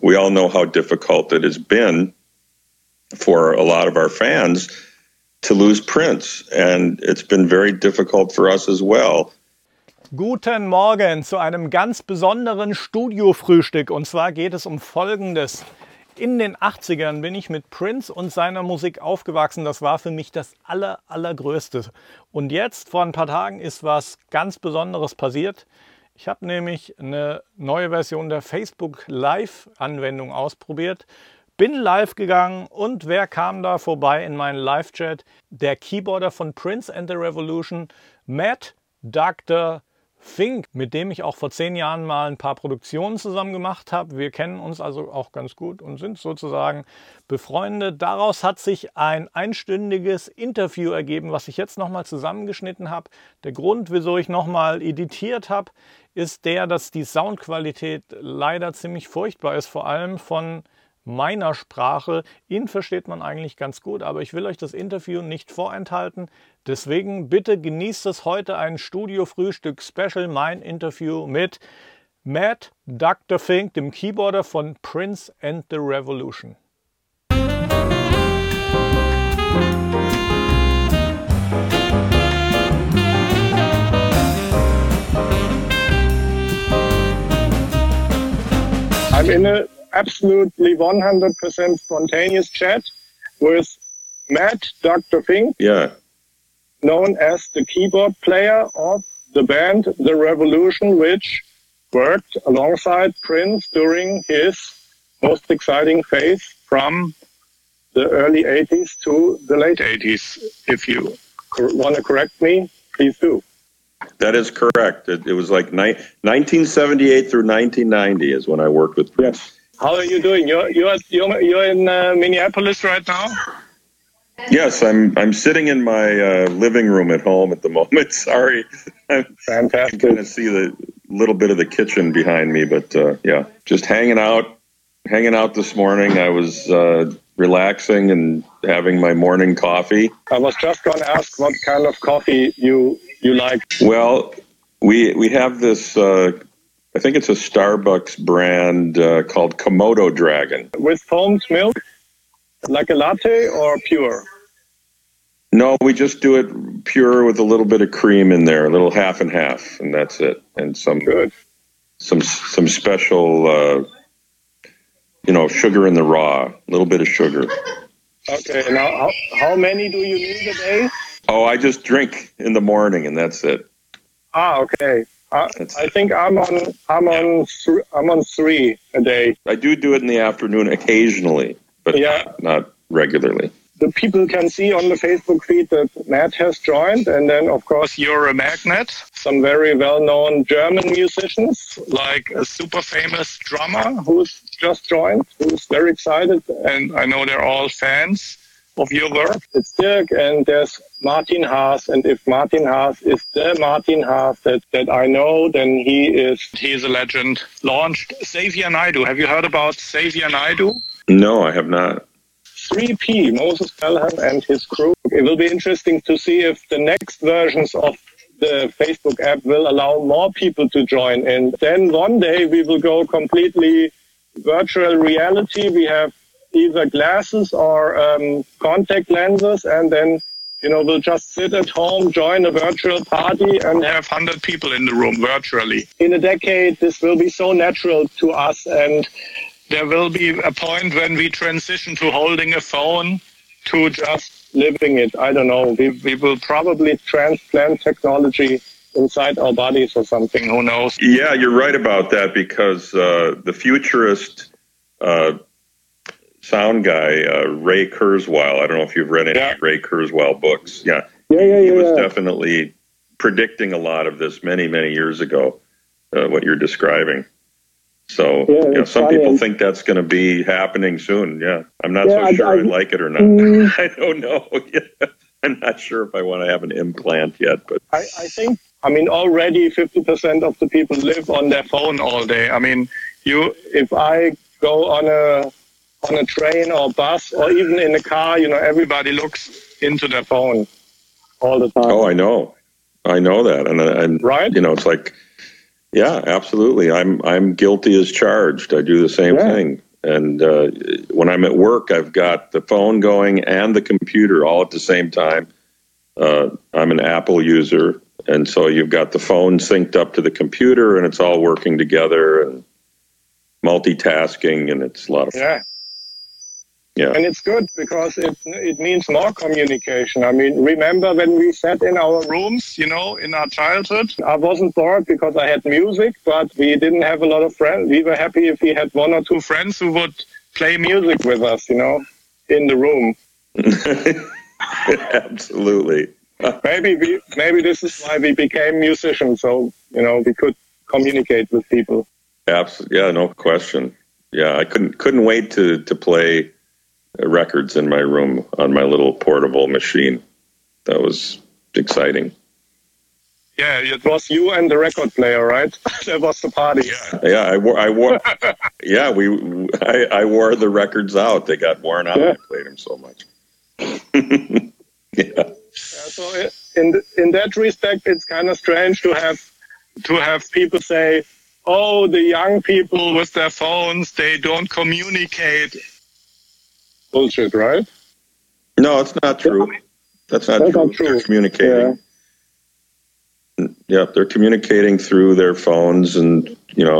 we all know how difficult it has been for a lot of our fans to lose Prince, and it's been very difficult for us as well. Guten Morgen zu einem ganz besonderen Studiofrühstück, und zwar geht es um Folgendes. In den 80ern bin ich mit Prince und seiner Musik aufgewachsen. Das war für mich das Allergrößte. Und jetzt, vor ein paar Tagen, ist was ganz Besonderes passiert. Ich habe nämlich eine neue Version der Facebook Live-Anwendung ausprobiert, bin live gegangen und wer kam da vorbei in meinen Live-Chat? Der Keyboarder von Prince and the Revolution, Matt Dr. Fink, mit dem ich auch vor 10 Jahren mal ein paar Produktionen zusammen gemacht habe. Wir kennen uns also auch ganz gut und sind sozusagen befreundet. Daraus hat sich ein einstündiges Interview ergeben, was ich jetzt nochmal zusammengeschnitten habe. Der Grund, wieso ich nochmal editiert habe, ist der, dass die Soundqualität leider ziemlich furchtbar ist, vor allem von meiner Sprache. Ihn versteht man eigentlich ganz gut, aber ich will euch das Interview nicht vorenthalten. Deswegen bitte genießt es heute, ein Studio-Frühstück-Special, mein Interview mit Matt Dr. Fink, dem Keyboarder von Prince and the Revolution. I'm in a absolutely 100% spontaneous chat with Matt Dr. Fink, known as the keyboard player of the band The Revolution, which worked alongside Prince during his most exciting phase from the early 80s to the late 80s. If you want to correct me, please do. That is correct. It was like 1978 through 1990 is when I worked with Prince. Yes. How are you doing? You're in Minneapolis right now? Yes, I'm sitting in my living room at home at the moment. Sorry, Fantastic. I kind of see the little bit of the kitchen behind me, but yeah, just hanging out this morning. I was relaxing and having my morning coffee. I was just going to ask what kind of coffee you like. Well, we have this. I think it's a Starbucks brand called Komodo Dragon. With foamed milk, like a latte or pure? No, we just do it pure with a little bit of cream in there, a little half and half, and that's it. And some special, sugar in the raw, a little bit of sugar. Okay, now how many do you need a day? Oh, I just drink in the morning, and that's it. Ah, okay. I think I'm on 3 a day. I do it in the afternoon occasionally, but not regularly. The people can see on the Facebook feed that Matt has joined, and then of course you're a magnet. Some very well-known German musicians, like a super famous drummer who's just joined, who's very excited, and I know they're all fans of your work. It's Dirk, and there's Martin Haas, and if Martin Haas is the Martin Haas that I know, then he's a legend. Launched Xavier Naidoo. Have you heard about Xavier Naidoo? No, I have not. 3P, Moses Pelham and his crew. It will be interesting to see if the next versions of the Facebook app will allow more people to join. And then one day we will go completely virtual reality. We have either glasses or contact lenses, and then we'll just sit at home, join a virtual party, and have 100 people in the room virtually. In a decade, this will be so natural to us, and there will be a point when we transition to holding a phone to just living it. I don't know. We will probably transplant technology inside our bodies or something. Who knows? Yeah, you're right about that, because the futurist sound guy, Ray Kurzweil, I don't know if you've read any Ray Kurzweil books. He was definitely predicting a lot of this many, many years ago, what you're describing. So some people think that's going to be happening soon. Yeah, I'm not so sure I like it or not. I don't know. I'm not sure if I want to have an implant yet. But I think, already 50% of the people live on their phone all day. If I go on a train or bus or even in a car, everybody looks into their phone all the time. Oh, I know that, and right? It's like. Yeah, absolutely. I'm guilty as charged. I do the same thing. And when I'm at work, I've got the phone going and the computer all at the same time. I'm an Apple user, and so you've got the phone synced up to the computer, and it's all working together and multitasking, and it's a lot of fun. Yeah. And it's good because it means more communication. I mean, remember when we sat in our rooms, in our childhood? I wasn't bored because I had music, but we didn't have a lot of friends. We were happy if we had one or two friends who would play music with us, in the room. Absolutely. Maybe this is why we became musicians, so, we could communicate with people. Absolutely. Yeah, no question. Yeah, I couldn't wait to play records in my room on my little portable machine. That was exciting. Yeah, it was you and the record player, right? That was the party. Yeah, I wore. Yeah, I wore the records out. They got worn out. I played them so much. Yeah. So in that respect, it's kind of strange to have people say, "Oh, the young people with their phones, they don't communicate." Bullshit, right? No, it's not true. That's not true. They're communicating. Yeah, they're communicating through their phones, and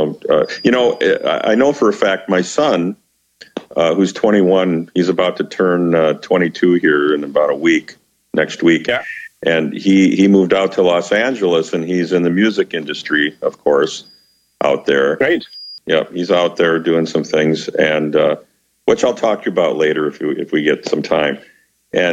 I know for a fact my son, who's 21, he's about to turn 22 here in about a week, next week. Yeah. And he moved out to Los Angeles, and he's in the music industry, of course, out there. Great. Yeah, he's out there doing some things, and which I'll talk to you about later if we get some time. And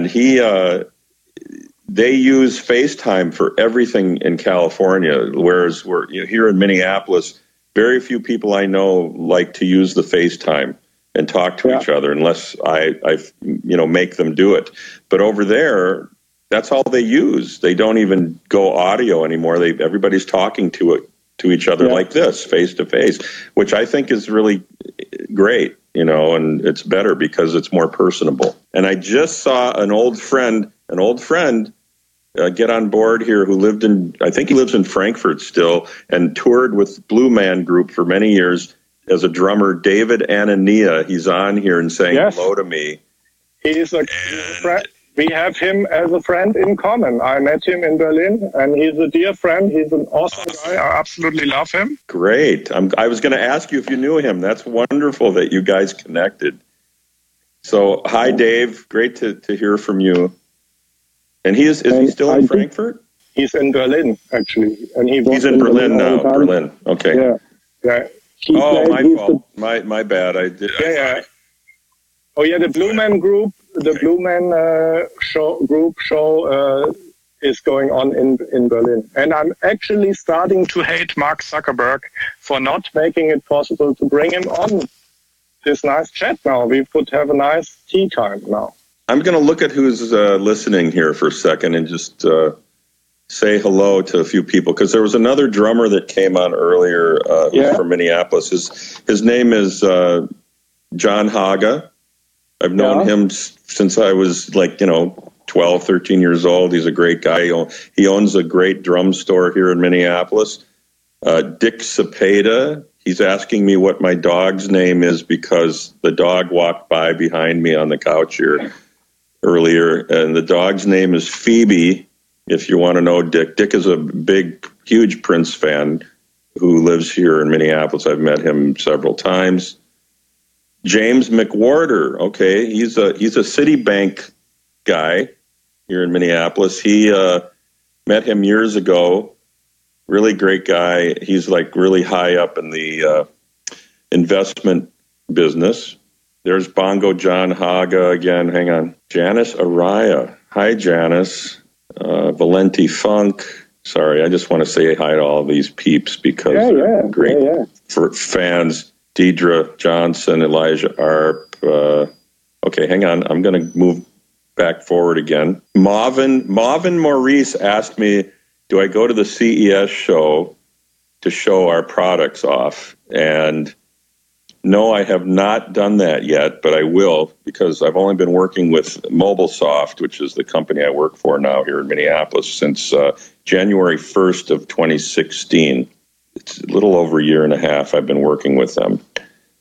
they use FaceTime for everything in California, whereas here in Minneapolis, very few people I know like to use the FaceTime and talk to each other unless I make them do it. But over there, that's all they use. They don't even go audio anymore. Everybody's talking to each other like this, face to face, which I think is really great, and it's better because it's more personable. And I just saw an old friend get on board here who I think he lives in Frankfurt still, and toured with Blue Man Group for many years as a drummer, David Anania. He's on here and saying hello to me. He's a friend. We have him as a friend in common. I met him in Berlin, and he's a dear friend. He's an awesome guy. I absolutely love him. Great. I was going to ask you if you knew him. That's wonderful that you guys connected. So, hi, Dave. Great to hear from you. And is he still in Frankfurt? He's in Berlin, actually. And he's in Berlin now. Berlin. Okay. Yeah. My fault. My bad. I did. Yeah. Oh, yeah, the Blue Man Group. The Blue Man show is going on in Berlin. And I'm actually starting to hate Mark Zuckerberg for not making it possible to bring him on this nice chat now. We could have a nice tea time now. I'm going to look at who's listening here for a second and just say hello to a few people, because there was another drummer that came on earlier who's from Minneapolis. His name is John Haga. I've known him since I was 12, 13 years old. He's a great guy. He owns a great drum store here in Minneapolis. Dick Cepeda, he's asking me what my dog's name is because the dog walked by behind me on the couch here earlier, and the dog's name is Phoebe, if you want to know Dick. Dick is a big, huge Prince fan who lives here in Minneapolis. I've met him several times. James McWhorter, okay, he's a Citibank guy here in Minneapolis. He met him years ago. Really great guy. He's really high up in the investment business. There's Bongo John Haga again. Hang on. Janice Araya. Hi, Janice. Valenti Funk. Sorry, I just want to say hi to all these peeps because they're great for fans. Deidre Johnson, Elijah Arp. Okay, hang on. I'm going to move back forward again. Marvin Maurice asked me, do I go to the CES show to show our products off? And no, I have not done that yet, but I will, because I've only been working with MobileSoft, which is the company I work for now here in Minneapolis, since January 1st of 2016. It's a little over a year and a half I've been working with them.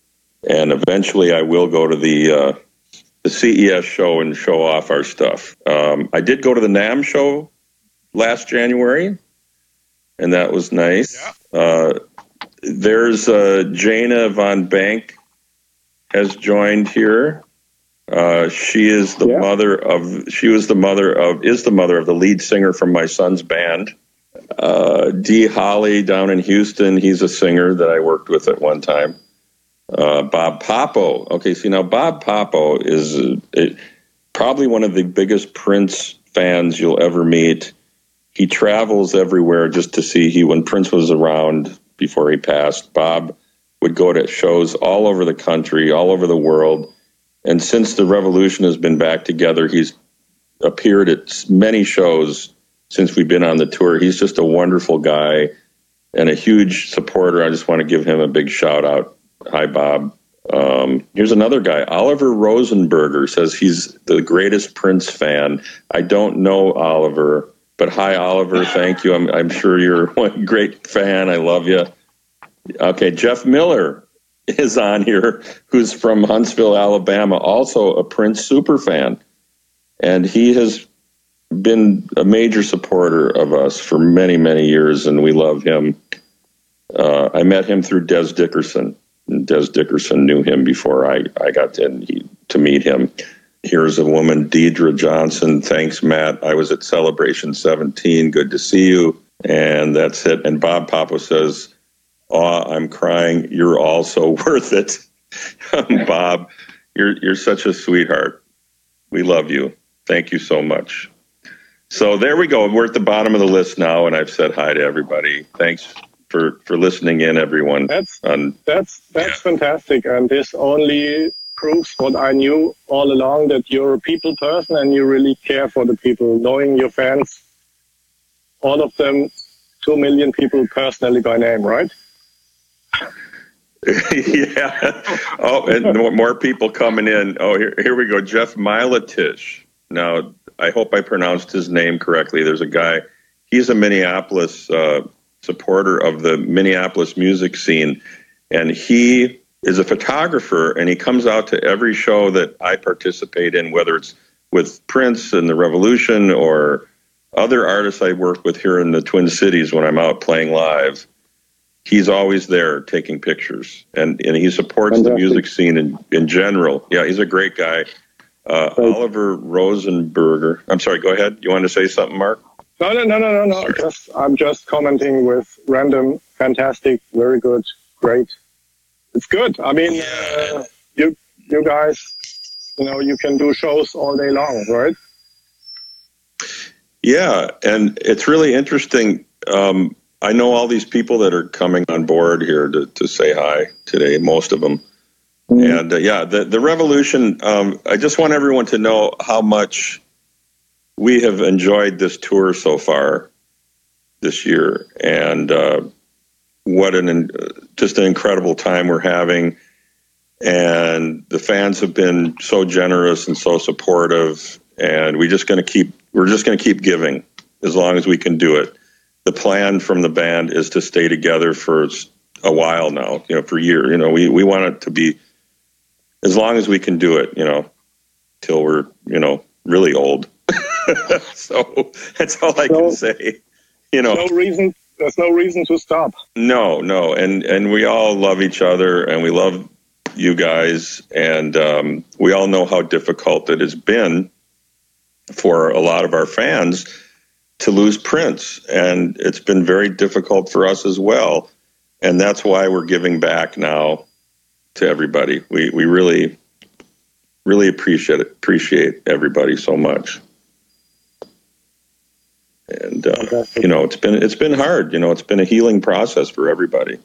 And eventually I will go to the CES show and show off our stuff. I did go to the NAMM show last January, and that was nice. Yeah. There's Jana Von Bank has joined here. She is the mother of the lead singer from my son's band. Dee Holly down in Houston, he's a singer that I worked with at one time. Bob Papo. Okay, see now Bob Papo is probably one of the biggest Prince fans you'll ever meet. He travels everywhere just to see. When Prince was around before he passed, Bob would go to shows all over the country, all over the world. And since the Revolution has been back together, he's appeared at many shows since we've been on the tour. He's just a wonderful guy and a huge supporter. I just want to give him a big shout out. Hi, Bob. Here's another guy. Oliver Rosenberger says he's the greatest Prince fan. I don't know Oliver, but hi, Oliver. Thank you. I'm sure you're a great fan. I love you. Okay, Jeff Miller is on here, who's from Huntsville, Alabama, also a Prince super fan. And he has been a major supporter of us for many, many years, and we love him. I met him through Des Dickerson. Des Dickerson knew him before I got to meet him. Here's a woman, Deidre Johnson. Thanks, Matt. I was at Celebration 17. Good to see you. And that's it. And Bob Papo says, "Aw, I'm crying. You're all so worth it." Bob, you're such a sweetheart. We love you. Thank you so much. So there we go. We're at the bottom of the list now, and I've said hi to everybody. Thanks for listening in, everyone. That's fantastic, and this only proves what I knew all along, that you're a people person and you really care for the people. Knowing your fans, all of them, 2 million people personally by name, right? Yeah. Oh, and more people coming in. Oh, here we go. Jeff Miletish. Now, I hope I pronounced his name correctly. There's a guy. He's a Minneapolis supporter of the Minneapolis music scene, and he is a photographer, and he comes out to every show that I participate in, whether it's with Prince and the Revolution or other artists I work with here in the Twin Cities when I'm out playing live. He's always there taking pictures, and he supports the music scene in general. Yeah, he's a great guy. Oliver Rosenberger. I'm sorry, go ahead. You want to say something, Mark? No. I'm just commenting with random, fantastic, very good, great. It's good. I mean, you guys, you can do shows all day long, right? Yeah, and it's really interesting. I know all these people that are coming on board here to say hi today, most of them. Mm-hmm. And the Revolution, I just want everyone to know how much we have enjoyed this tour so far this year, and what just an incredible time we're having. And the fans have been so generous and so supportive, and we're just going to keep giving as long as we can do it. The plan from the band is to stay together for a while now, for years. We want it to be as long as we can do it, till we're, really old. So that's all I can say. There's no reason to stop. No. And we all love each other, and we love you guys. And we all know how difficult it has been for a lot of our fans to lose Prince. And it's been very difficult for us as well. And that's why we're giving back now to everybody. We really, really appreciate everybody so much. And it's been hard. It's been a healing process for everybody.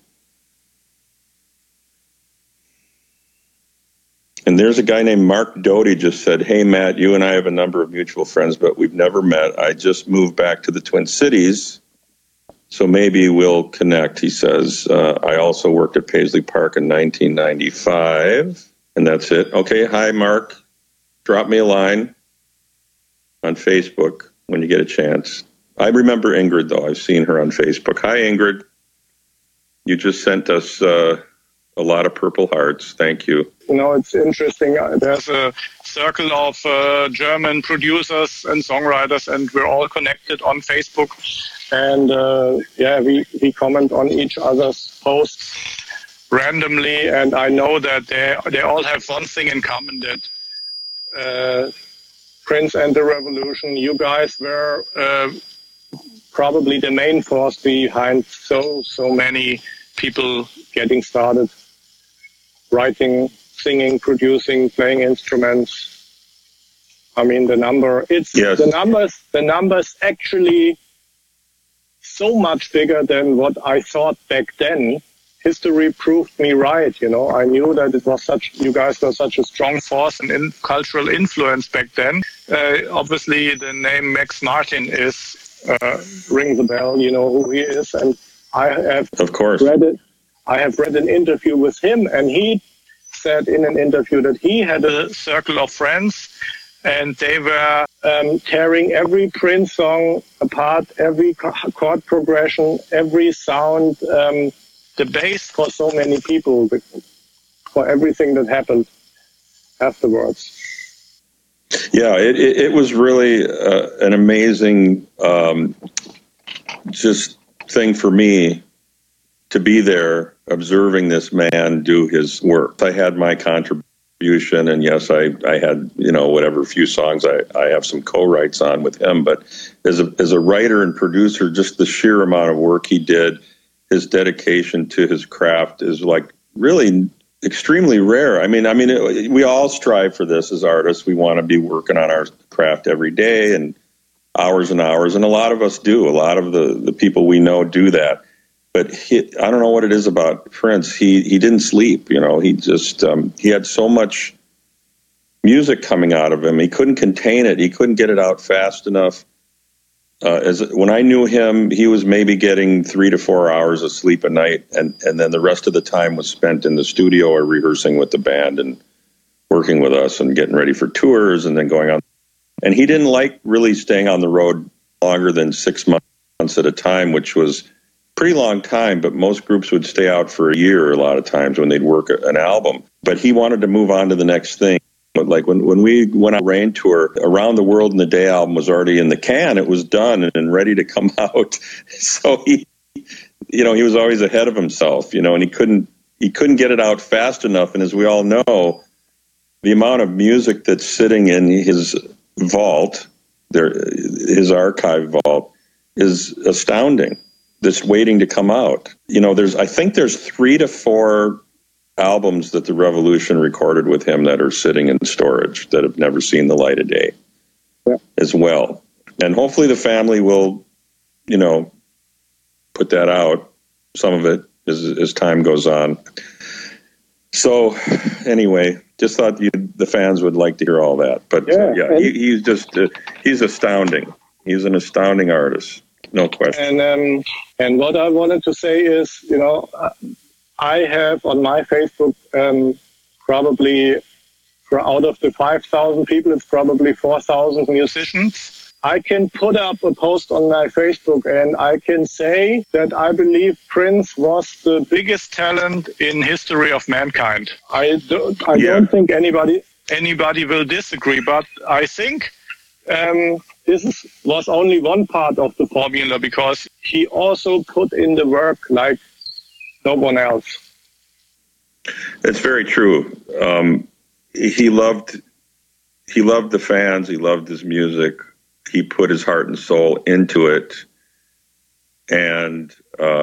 And there's a guy named Mark Doty just said, "Hey Matt, you and I have a number of mutual friends, but we've never met. I just moved back to the Twin Cities, so maybe we'll connect." He says, "I also worked at Paisley Park in 1995, and that's it." Okay, hi Mark. Drop me a line on Facebook when you get a chance. I remember Ingrid, though. I've seen her on Facebook. Hi, Ingrid. You just sent us A lot of Purple Hearts. Thank you. You know, it's interesting. There's a circle of German producers and songwriters, and we're all connected on Facebook. And we comment on each other's posts randomly. And I know that they all have one thing in common, that Prince and the Revolution, you guys were probably the main force behind so many people getting started, writing, singing, producing, playing instruments. I mean, the numbers actually so much bigger than what I thought back then. History proved me right. You know, I knew that you guys were such a strong force and cultural influence back then. Obviously, the name Max Martin rings a bell. You know who he is, and I have read an interview with him, and he said in an interview that he had a circle of friends, and they were tearing every Prince song apart, every chord progression, every sound. The bass for so many people, for everything that happened afterwards. Yeah, it was really an amazing just thing for me to be there observing this man do his work. I had my contribution, and yes, I had, you know, whatever few songs I have some co-writes on with him, but as a writer and producer, just the sheer amount of work he did, his dedication to his craft is like really extremely rare. I mean, we all strive for this as artists. We want to be working on our craft every day and hours, and a lot of us do. A lot of the people we know do that. But I don't know what it is about Prince. He didn't sleep. You know, he just he had so much music coming out of him. He couldn't contain it. He couldn't get it out fast enough. When I knew him, he was maybe getting 3 to 4 hours of sleep a night, and then the rest of the time was spent in the studio or rehearsing with the band and working with us and getting ready for tours and then going on. And he didn't like really staying on the road longer than 6 months at a time, which was a pretty long time, but most groups would stay out for a year a lot of times when they'd work an album. But he wanted to move on to the next thing. But like when we went on Rain Tour, Around the World in the Day album was already in the can. It was done and ready to come out. So he was always ahead of himself, you know, and he couldn't get it out fast enough. And as we all know, the amount of music that's sitting in his vault, his archive vault, is astounding. That's waiting to come out. You know, I think there's 3 to 4 albums that the Revolution recorded with him that are sitting in storage that have never seen the light of day as well. And hopefully the family will, you know, put that out, some of it, as time goes on. So anyway, just thought the fans would like to hear all that. But he's astounding. He's an astounding artist, no question. And what I wanted to say is, you know, I have on my Facebook probably out of the 5,000 people, it's probably 4,000 musicians. I can put up a post on my Facebook and I can say that I believe Prince was the biggest talent in history of mankind. I don't think anybody will disagree, but I think this was only one part of the formula, because he also put in the work like no one else. It's very true. He loved the fans. He loved his music. He put his heart and soul into it, and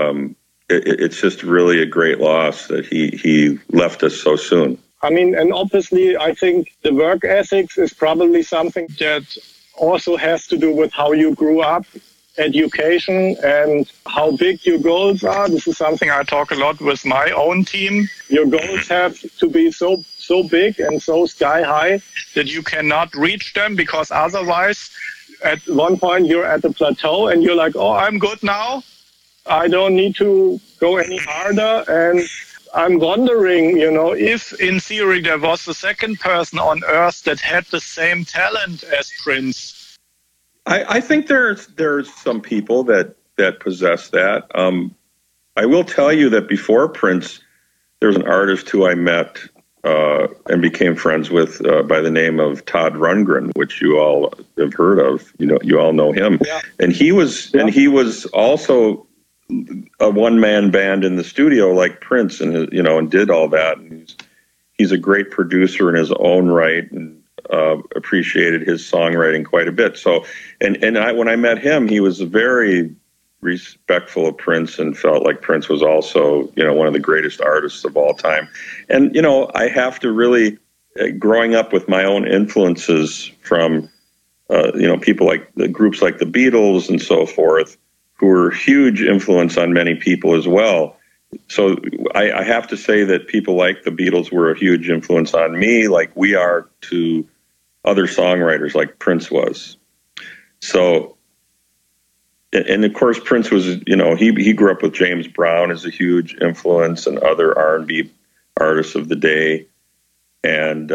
it's just really a great loss that he left us so soon. I mean, and obviously, I think the work ethics is probably something that also has to do with how you grew up, education, and how big your goals are. This is something I talk a lot with my own team. Your goals have to be so big and so sky high that you cannot reach them, because otherwise at one point you're at the plateau and you're like, oh, I'm good now. I don't need to go any harder. And I'm wondering, you know, if in theory there was a second person on Earth that had the same talent as Prince. I think there's some people that possess that. I will tell you that before Prince, there's an artist who I met and became friends with by the name of Todd Rundgren, which you all have heard of. You all know him. Yeah. And he was also a one-man band in the studio like Prince, and and did all that. And he's a great producer in his own right, and appreciated his songwriting quite a bit. So, when I met him, he was very respectful of Prince and felt like Prince was also, one of the greatest artists of all time. And, I have to really, growing up with my own influences from, people like the groups like the Beatles and so forth, who were huge influence on many people as well. So I have to say that people like the Beatles were a huge influence on me, like we are to other songwriters like Prince was. So, and of course, Prince was, he grew up with James Brown as a huge influence and other R&B artists of the day. And,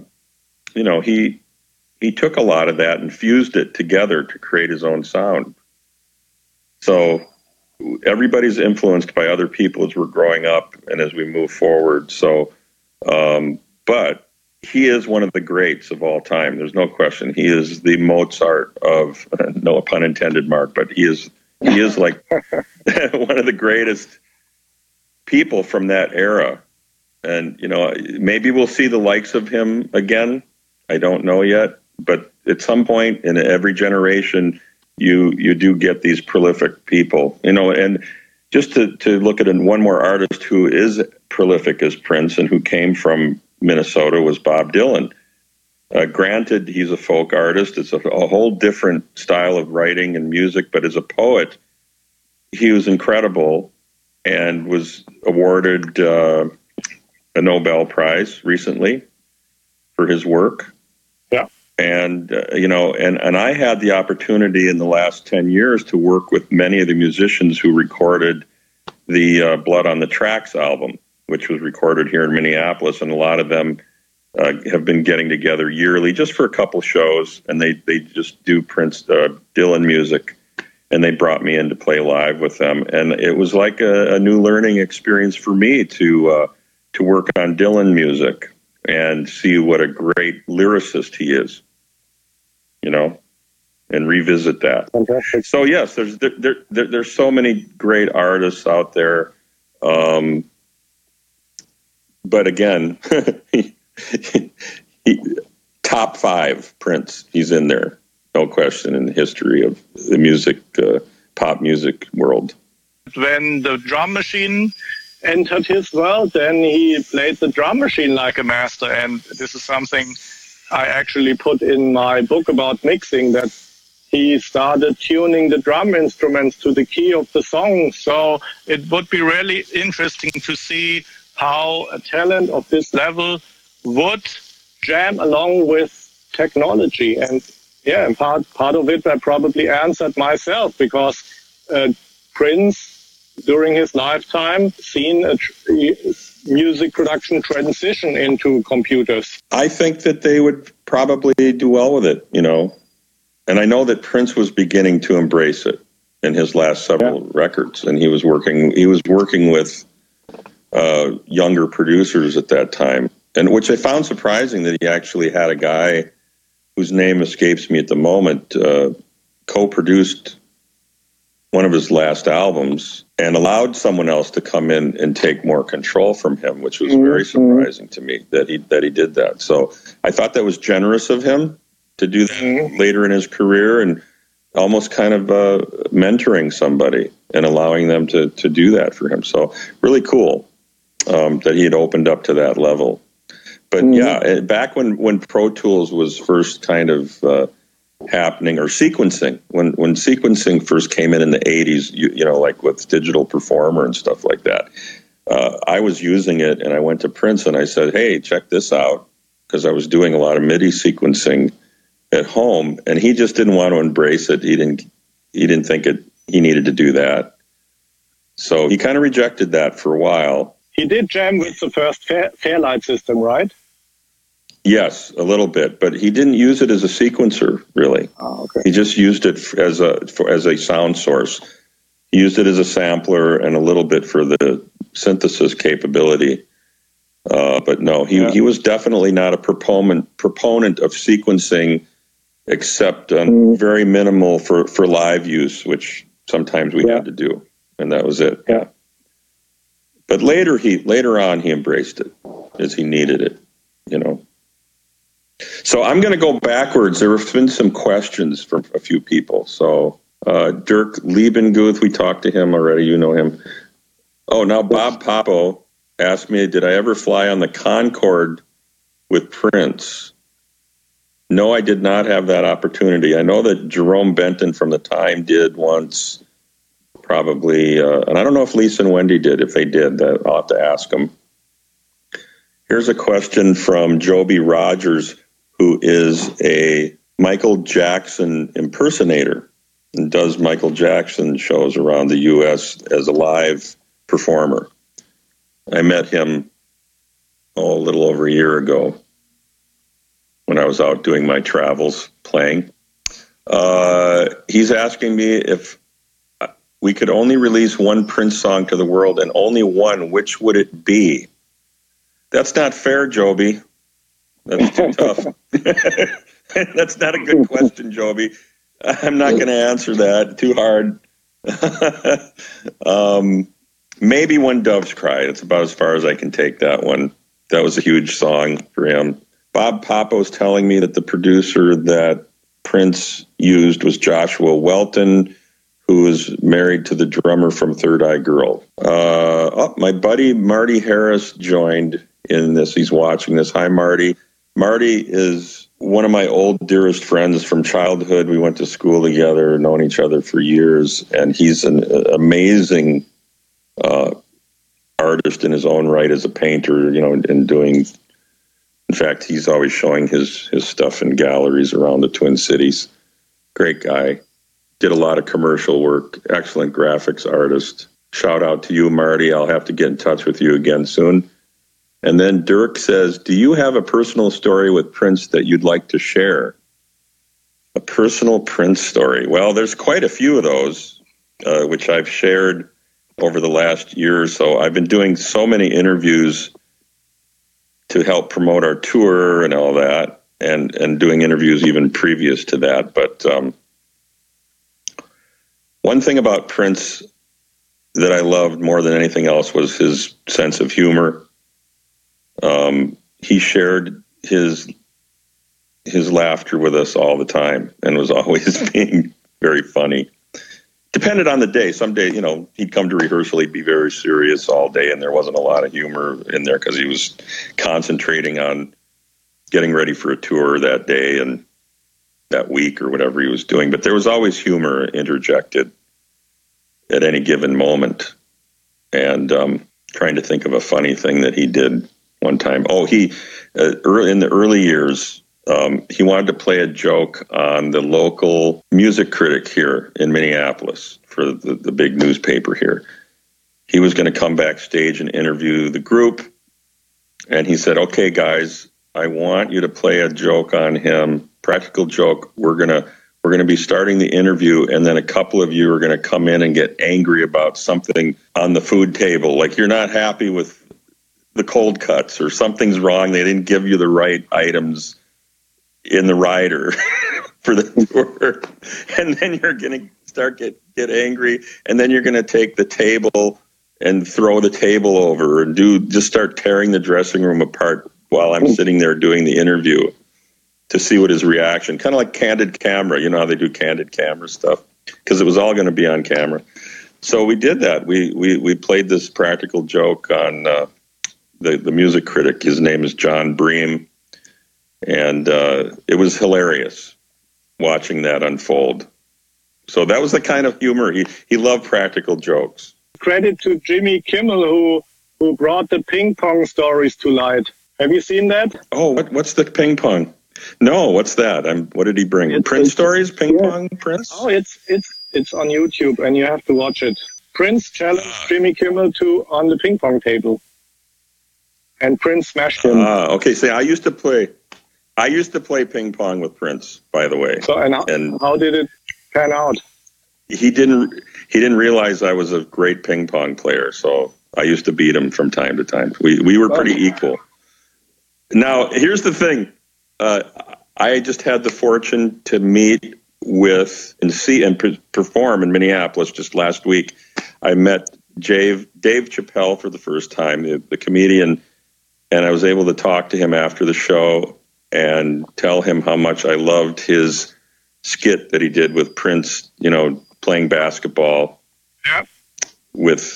he took a lot of that and fused it together to create his own sound. So everybody's influenced by other people as we're growing up and as we move forward. So, but he is one of the greats of all time. There's no question. He is the Mozart of, no pun intended, Mark, but he is like one of the greatest people from that era. And, maybe we'll see the likes of him again. I don't know yet, but at some point in every generation, you do get these prolific people, and just to look at one more artist who is prolific as Prince and who came from Minnesota was Bob Dylan. Granted, he's a folk artist. It's a whole different style of writing and music, but as a poet, he was incredible and was awarded a Nobel Prize recently for his work. Yeah. And, and I had the opportunity in the last 10 years to work with many of the musicians who recorded the Blood on the Tracks album, which was recorded here in Minneapolis, and a lot of them have been getting together yearly just for a couple shows, and they just do Prince Dylan music, and they brought me in to play live with them, and it was like a new learning experience for me to work on Dylan music and see what a great lyricist he is, and revisit that. Fantastic. So yes, there's so many great artists out there. But again, top 5 Prince. He's in there, no question, in the history of the music, pop music world. When the drum machine entered his world, then he played the drum machine like a master. And this is something I actually put in my book about mixing, that he started tuning the drum instruments to the key of the song. So it would be really interesting to see how a talent of this level would jam along with technology. And yeah, part of it I probably answered myself, because Prince, during his lifetime, seen a music production transition into computers. I think that they would probably do well with it, And I know that Prince was beginning to embrace it in his last several records, and he was working with younger producers at that time, and which I found surprising that he actually had a guy whose name escapes me at the moment co-produced one of his last albums and allowed someone else to come in and take more control from him, which was very surprising to me that he did that. So I thought that was generous of him to do that later in his career, and almost kind of mentoring somebody and allowing them to do that for him. So really cool that he had opened up to that level. But yeah, back when Pro Tools was first kind of happening, or sequencing, when sequencing first came in the 80s, like with Digital Performer and stuff like that, I was using it, and I went to Prince and I said, hey, check this out, because I was doing a lot of MIDI sequencing at home, and he just didn't want to embrace it. He didn't think he needed to do that. So he kind of rejected that for a while. He did jam with the first Fairlight system, right? Yes, a little bit, but he didn't use it as a sequencer, really. Oh, okay. He just used it as a sound source. He used it as a sampler and a little bit for the synthesis capability. But no, he was definitely not a proponent of sequencing, except very minimal for live use, which sometimes we had to do, and that was it. Yeah. But later on he embraced it as he needed it, you know. So I'm going to go backwards. There have been some questions from a few people. So Dirk Liebenguth, we talked to him already. You know him. Oh, now Bob Papo asked me, did I ever fly on the Concorde with Prince? No, I did not have that opportunity. I know that Jerome Benton from the Time did once, probably, and I don't know if Lisa and Wendy did. If they did, I'll have to ask them. Here's a question from Joby Rogers, who is a Michael Jackson impersonator and does Michael Jackson shows around the U.S. as a live performer. I met him a little over a year ago when I was out doing my travels playing. He's asking me if we could only release one Prince song to the world and only one, which would it be? That's not fair, Joby. That's too tough. That's not a good question, Joby. I'm not going to answer that. Too hard. Maybe When Doves Cry. It's about as far as I can take that one. That was a huge song for him. Bob Papo's telling me that the producer that Prince used was Joshua Welton, who is married to the drummer from Third Eye Girl. My buddy Marty Harris joined in this. He's watching this. Hi, Marty. Marty is one of my old dearest friends from childhood. We went to school together, known each other for years, and he's an amazing artist in his own right as a painter, you know, and doing. In fact, he's always showing his stuff in galleries around the Twin Cities. Great guy. Did a lot of commercial work. Excellent graphics artist. Shout out to you, Marty. I'll have to get in touch with you again soon. And then Dirk says, do you have a personal story with Prince that you'd like to share? A personal Prince story. Well, there's quite a few of those, which I've shared over the last year or so. I've been doing so many interviews to help promote our tour and all that, and doing interviews even previous to that. But one thing about Prince that I loved more than anything else was his sense of humor. He shared his laughter with us all the time and was always being very funny. Depended on the day. Some day, you know, he'd come to rehearsal, he'd be very serious all day, and there wasn't a lot of humor in there because he was concentrating on getting ready for a tour that day and that week or whatever he was doing. But there was always humor interjected at any given moment. And trying to think of a funny thing that he did one time. Oh, he in the early years, he wanted to play a joke on the local music critic here in Minneapolis for the big newspaper here. He was going to come backstage and interview the group, and he said, okay, guys, I want you to play a joke on him, practical joke. We're going to be starting the interview, and then a couple of you are going to come in and get angry about something on the food table, like you're not happy with the cold cuts or something's wrong. They didn't give you the right items in the rider for the tour. And then you're going to start get angry, and then you're going to take the table and throw the table over and just start tearing the dressing room apart while I'm sitting there doing the interview to see what his reaction, kind of like candid camera. You know how they do candid camera stuff, because it was all going to be on camera. So we did that. We played this practical joke on the music critic. His name is John Bream. And it was hilarious watching that unfold. So that was the kind of humor. He loved practical jokes. Credit to Jimmy Kimmel, who brought the ping pong stories to light. Have you seen that? Oh, what's the ping pong? No, what's that? What did he bring? Prince stories? Ping pong Prince? Oh, it's on YouTube, and you have to watch it. Prince challenged Jimmy Kimmel on the ping pong table, and Prince smashed him. Okay. See, I used to play ping pong with Prince, by the way. So, and how did it pan out? He didn't realize I was a great ping pong player, so I used to beat him from time to time. We were pretty equal. Now, here's the thing. I just had the fortune to meet with and see and perform in Minneapolis just last week. I met Dave Chappelle for the first time, the comedian, and I was able to talk to him after the show and tell him how much I loved his skit that he did with Prince, playing basketball with,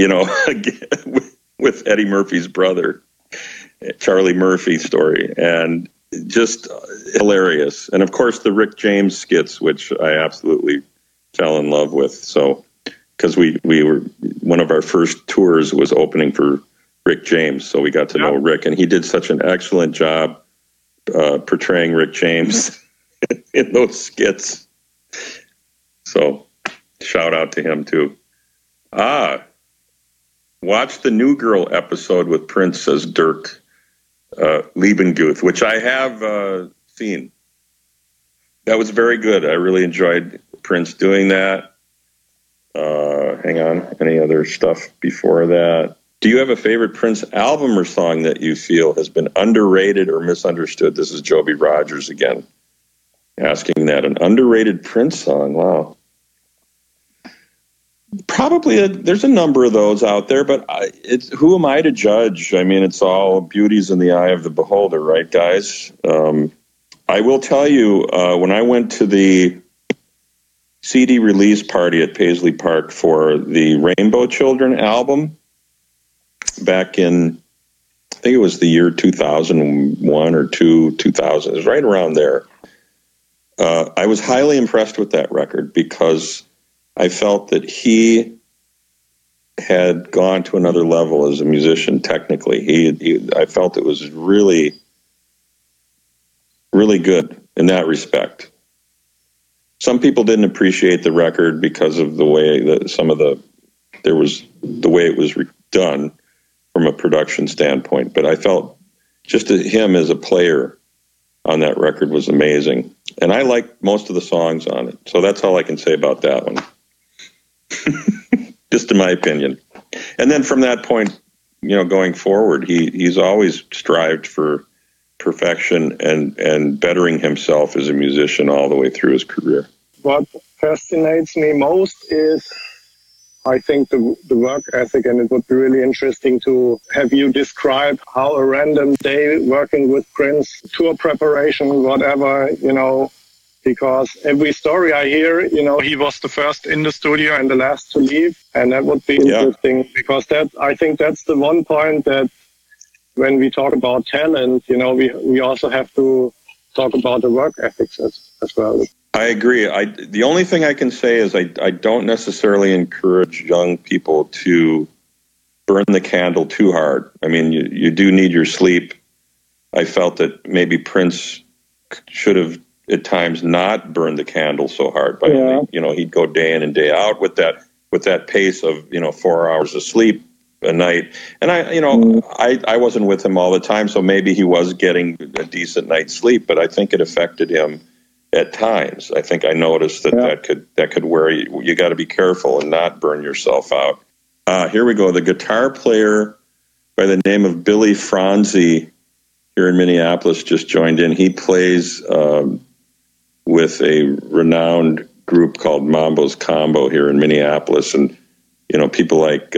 with Eddie Murphy's brother, Charlie Murphy story, and just hilarious. And of course the Rick James skits, which I absolutely fell in love with. So, because we were, one of our first tours was opening for Rick James, so we got to know Rick, and he did such an excellent job portraying Rick James in those skits. So, shout out to him too. Watch the New Girl episode with Prince, says Dirk Liebenguth, which I have seen. That was very good. I really enjoyed Prince doing that. Hang on. Any other stuff before that? Do you have a favorite Prince album or song that you feel has been underrated or misunderstood? This is Joby Rogers again asking that. An underrated Prince song. Wow. Probably there's a number of those out there, but who am I to judge? I mean, it's all beauty's in the eye of the beholder, right, guys? I will tell you, when I went to the CD release party at Paisley Park for the Rainbow Children album back in, I think it was the year 2001 or 2000. It was right around there. I was highly impressed with that record because I felt that he had gone to another level as a musician. Technically, I felt it was really, really good in that respect. Some people didn't appreciate the record because of the way that the way it was done from a production standpoint. But I felt just him as a player on that record was amazing, and I liked most of the songs on it. So that's all I can say about that one. Just in my opinion. And then from that point, going forward, he's always strived for perfection and bettering himself as a musician all the way through his career. What fascinates me most is, I think, the work ethic, and it would be really interesting to have you describe how a random day working with Prince, tour preparation, whatever, because every story I hear, he was the first in the studio and the last to leave. And that would be interesting because I think that's the one point that when we talk about talent, we also have to talk about the work ethics as well. I agree. The only thing I can say is I don't necessarily encourage young people to burn the candle too hard. I mean, you do need your sleep. I felt that maybe Prince should have at times not burn the candle so hard by only, he'd go day in and day out with that pace of 4 hours of sleep a night. And I wasn't with him all the time, so maybe he was getting a decent night's sleep, but I think it affected him at times. I think I noticed that could wear you. You got to be careful and not burn yourself out. Here we go. The guitar player by the name of Billy Franzi here in Minneapolis just joined in. He plays with a renowned group called Mambo's Combo here in Minneapolis. And, people like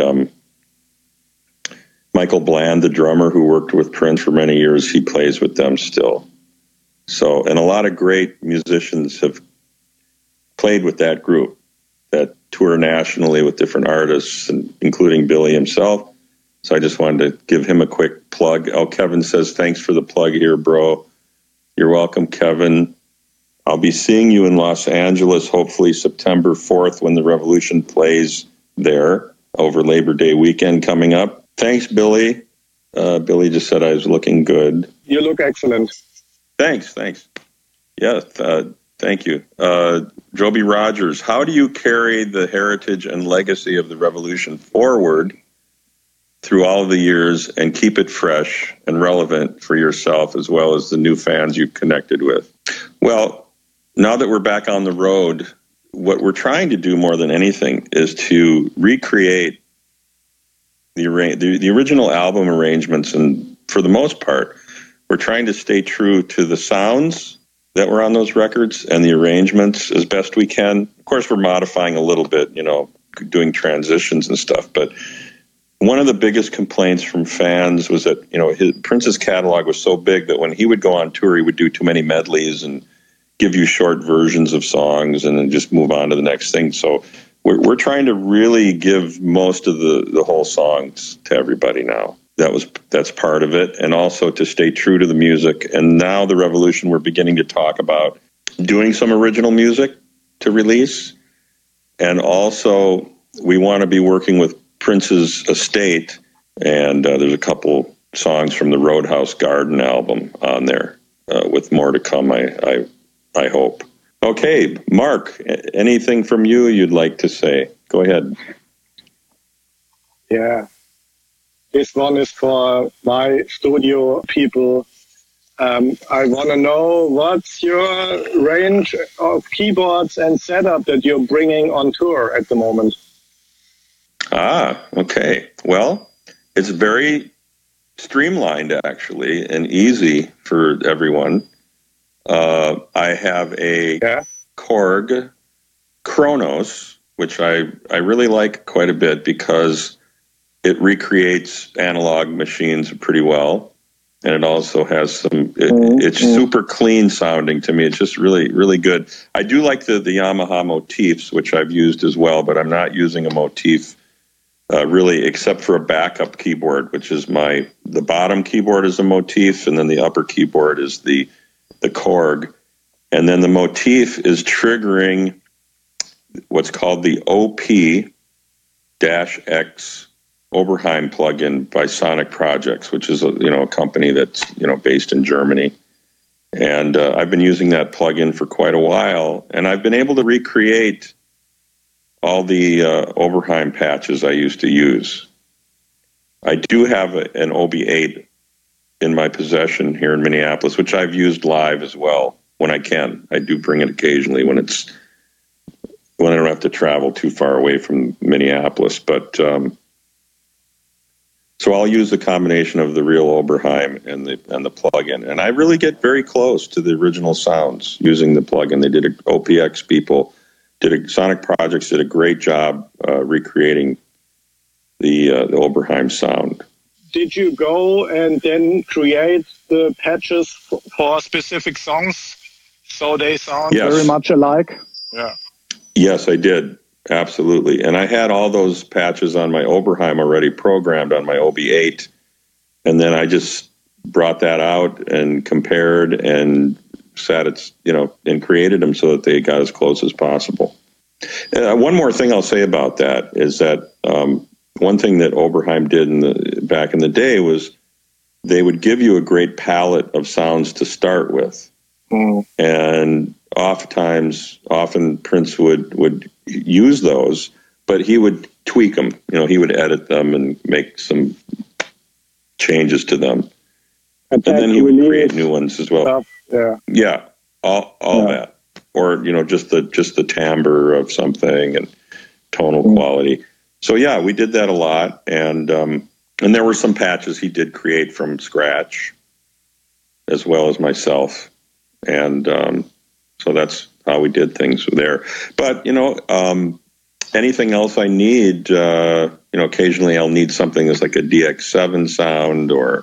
Michael Bland, the drummer who worked with Prince for many years, he plays with them still. So, and a lot of great musicians have played with that group that tour nationally with different artists, including Billy himself. So I just wanted to give him a quick plug. Kevin says, thanks for the plug here, bro. You're welcome, Kevin. I'll be seeing you in Los Angeles, hopefully September 4th when the Revolution plays there over Labor Day weekend coming up. Thanks, Billy. Billy just said I was looking good. You look excellent. Thanks. Yeah, thank you. Joby Rogers, how do you carry the heritage and legacy of the Revolution forward through all of the years and keep it fresh and relevant for yourself as well as the new fans you've connected with? Well, now that we're back on the road, what we're trying to do more than anything is to recreate the original album arrangements, and for the most part, we're trying to stay true to the sounds that were on those records and the arrangements as best we can. Of course, we're modifying a little bit, doing transitions and stuff. But one of the biggest complaints from fans was that, Prince's catalog was so big that when he would go on tour, he would do too many medleys and give you short versions of songs and then just move on to the next thing. So we're trying to really give most of the whole songs to everybody now. That's part of it, and also to stay true to the music. And now the Revolution, we're beginning to talk about doing some original music to release, and also we want to be working with Prince's estate, and there's a couple songs from the Roadhouse Garden album on there, with more to come, I hope. Okay, Mark, anything from you you'd like to say? Go ahead. Yeah. This one is for my studio people. I want to know what's your range of keyboards and setup that you're bringing on tour at the moment. Okay. Well, it's very streamlined, actually, and easy for everyone. I have a Korg Kronos, which I really like quite a bit because it recreates analog machines pretty well, and it also has some. It's super clean sounding to me. It's just really, really good. I do like the Yamaha motifs, which I've used as well, but I'm not using a motif really, except for a backup keyboard, which is the bottom keyboard is a motif, and then the upper keyboard is the Korg, and then the motif is triggering what's called the OP-X Oberheim plugin by Sonic Projects, which is a company that's based in Germany, and I've been using that plugin for quite a while, and I've been able to recreate all the Oberheim patches I used to use. I do have an OB8 in my possession here in Minneapolis, which I've used live as well when I can. I do bring it occasionally when I don't have to travel too far away from Minneapolis, but. So I'll use the combination of the real Oberheim and the plugin, and I really get very close to the original sounds using the plugin. They did OPX people Sonic Projects did a great job recreating the Oberheim sound. Did you go and then create the patches for specific songs so they sound very much alike? Yeah. Yes, I did. Absolutely. And I had all those patches on my Oberheim already programmed on my OB8. And then I just brought that out and compared and and created them so that they got as close as possible. One more thing I'll say about that is that one thing that Oberheim did back in the day was they would give you a great palette of sounds to start with. Mm. And often Prince would use those, but he would tweak them. He would edit them and make some changes to them. And then he would create new ones as well. Yeah, all that. Or, just the timbre of something and tonal quality. So yeah, we did that a lot, and there were some patches he did create from scratch, as well as myself, and so that's how we did things there. But anything else I need, occasionally I'll need something that's like a DX7 sound, or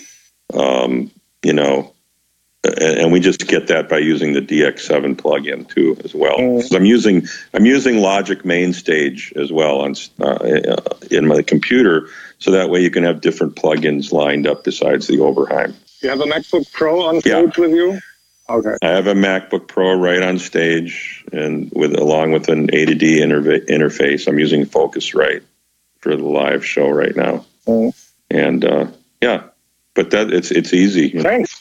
and we just get that by using the DX7 plugin too, as well. So I'm using Logic Mainstage as well in my computer, so that way you can have different plugins lined up besides the Oberheim. You have a MacBook Pro on stage with you? Okay. I have a MacBook Pro right on stage, and along with an A to D interface. I'm using Focusrite for the live show right now. And but it's easy. Thanks.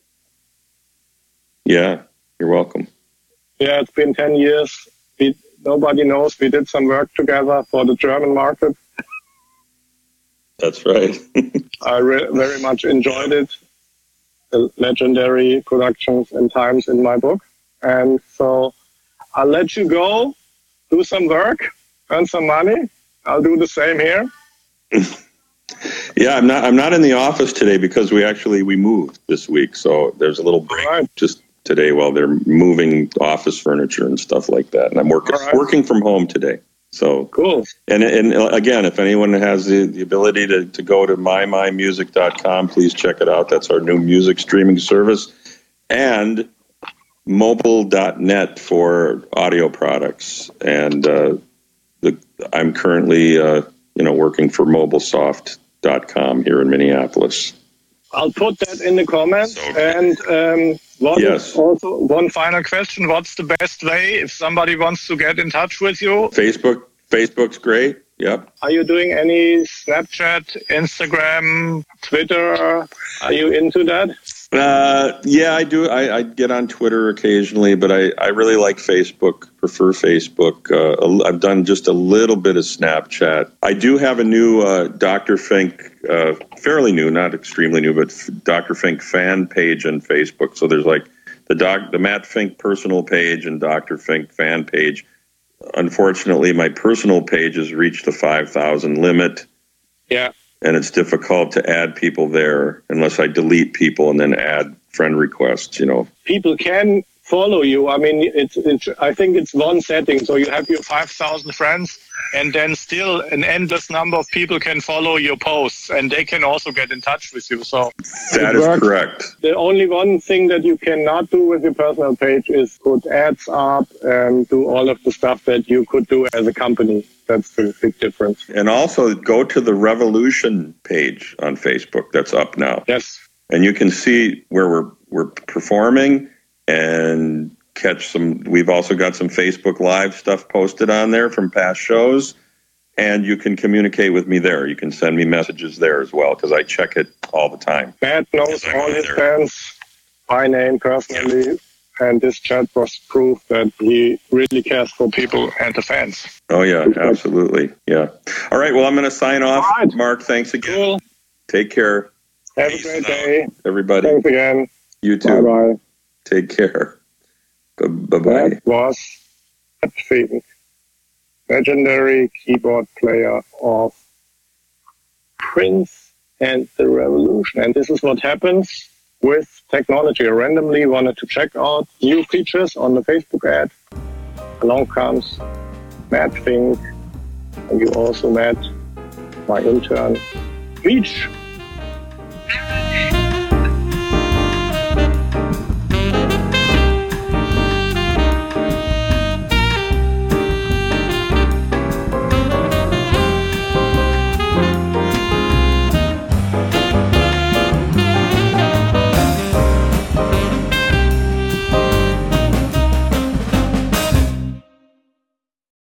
Yeah, you're welcome. Yeah, it's been 10 years. Nobody knows we did some work together for the German market. That's right. I very much enjoyed it. The legendary productions and times in my book. And so I'll let you go, do some work, earn some money. I'll do the same here. Yeah, I'm not in the office today because we moved this week, so there's a little break just today while they're moving office furniture and stuff like that, and I'm working from home today. So cool. And again, if anyone has the ability to go to mymymusic.com, please check it out. That's our new music streaming service, and mobile.net for audio products. And I'm currently working for mobilesoft.com here in Minneapolis. I'll put that in the comments. And also one final question. What's the best way if somebody wants to get in touch with you? Facebook's great. Yep. Are you doing any Snapchat, Instagram, Twitter? Are you into that? Yeah, I do. I get on Twitter occasionally, but I really like Facebook, prefer Facebook. I've done just a little bit of Snapchat. I do have a new Dr. Fink, fairly new, not extremely new, but Dr. Fink fan page on Facebook. So there's like the Matt Fink personal page and Dr. Fink fan page. Unfortunately, my personal page has reached the 5,000 limit. Yeah. And it's difficult to add people there unless I delete people and then add friend requests, People can follow you. I mean, I think it's one setting. So you have your 5,000 friends, and then still an endless number of people can follow your posts, and they can also get in touch with you. So that is correct. The only one thing that you cannot do with your personal page is put ads up and do all of the stuff that you could do as a company. That's the big difference. And also go to the Revolution page on Facebook that's up now. Yes. And you can see where we're performing and catch some. We've also got some Facebook Live stuff posted on there from past shows. And you can communicate with me there. You can send me messages there as well because I check it all the time. Matt knows all his fans by name personally. Yeah. And this chat was proof that he really cares for people and the fans. Oh, yeah, absolutely. Yeah. All right. Well, I'm going to sign off. Right. Mark, thanks again. Cool. Take care. Have a great day. Everybody. Thanks again. You too. Bye-bye. Take care. Bye-bye. That was Matt Fink, legendary keyboard player of Prince and the Revolution. And this is what happens with technology. I randomly wanted to check out new features on the Facebook ad. Along comes Matt Fink, and you also met my intern, Meech.